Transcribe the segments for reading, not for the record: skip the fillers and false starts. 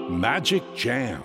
Magic Jam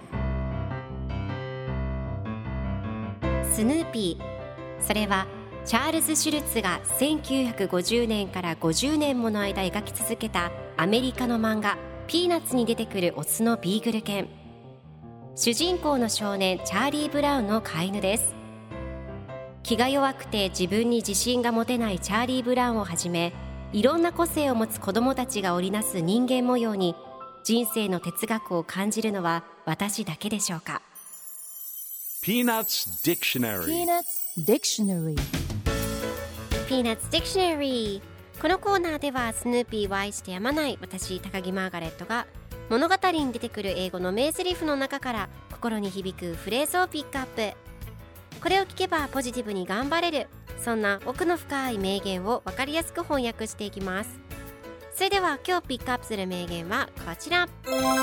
スヌーピー、それはチャールズ・シュルツが1950年から50年もの間描き続けたアメリカの漫画ピーナッツに出てくるオスのビーグル犬。主人公の少年チャーリー・ブラウンの飼い犬です。気が弱くて自分に自信が持てないチャーリー・ブラウンをはじめ、いろんな個性を持つ子どもたちが織りなす人間模様に人生の哲学を感じるのは私だけでしょうか。 Peanuts Dictionary Dictionary ピーナッツ・ディクショナリー。このコーナーではスヌーピーを愛してやまない私高木マーガレットが物語に出てくる英語の名台詞の中から心に響くフレーズをピックアップ。これを聞けばポジティブに頑張れる、そんな奥の深い名言を分かりやすく翻訳していきます。それでは今日ピックアップする名言はこちら。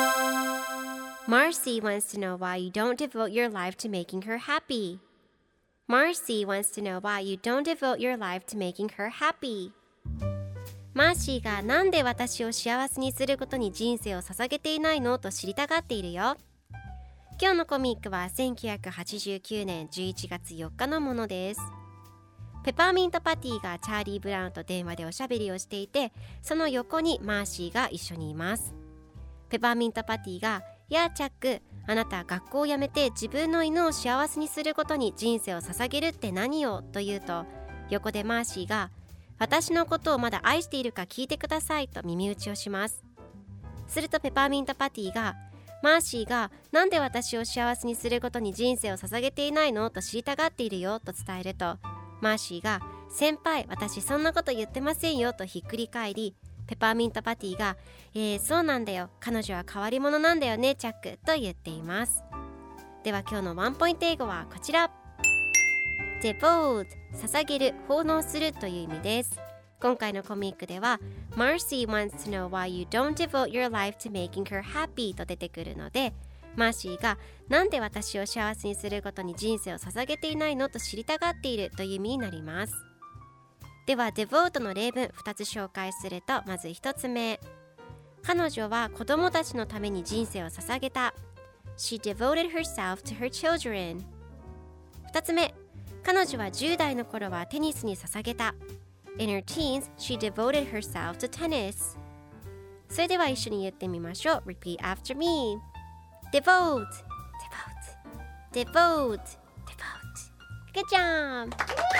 Marcy wants to know why you don't devote your life to making her happy. Marcy wants to know why you don't devote your life to making her happy. マーシーがなんで私を幸せにすることに人生を捧げていないのと知りたがっているよ。今日のコミックは1989年11月4日のものです。ペパーミントパティがチャーリー・ブラウンと電話でおしゃべりをしていて、その横にマーシーが一緒にいます。ペパーミントパティが、やあチャック、あなた学校を辞めて自分の犬を幸せにすることに人生を捧げるって何よと言うと、横でマーシーが、私のことをまだ愛しているか聞いてくださいと耳打ちをします。するとペパーミントパティが、マーシーがなんで私を幸せにすることに人生を捧げていないのと知りたがっているよと伝えると、マーシーが、先輩私そんなこと言ってませんよとひっくり返り、ペパーミントパティが、そうなんだよ、彼女は変わり者なんだよねチャックと言っています。では今日のワンポイント英語はこちら。 Devote 捧げる、奉納するという意味です。今回のコミックでは Marcy wants to know why you don't devote your life to making her happy と出てくるので、マーシーがなんで私を幸せにすることに人生を捧げていないのと知りたがっているという意味になります。では devote の例文2つ紹介すると、まず1つ目、彼女は子供たちのために人生を捧げた。 She devoted herself to her children。 2つ目、彼女は10代の頃はテニスに捧げた。 In her teens, she devoted herself to tennis。 それでは一緒に言ってみましょう。 Repeat after me。 Devote Devote Devote Devote。 Good job。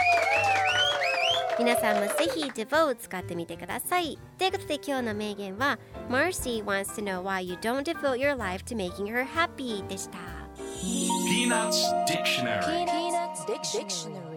皆さんもぜひ Devote 使ってみてください。ということで今日の名言は Marcy wants to know why you don't devote your life to making her happy でした。 Peanuts Dictionary Peanuts Dictionary